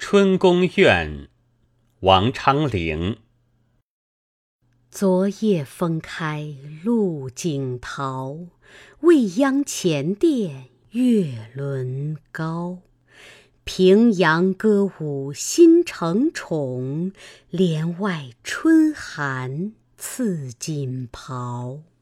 春宫怨，王昌龄。 昨夜风开露井桃，未央前殿月轮高。平阳歌舞新承宠，帘外春寒赐锦袍。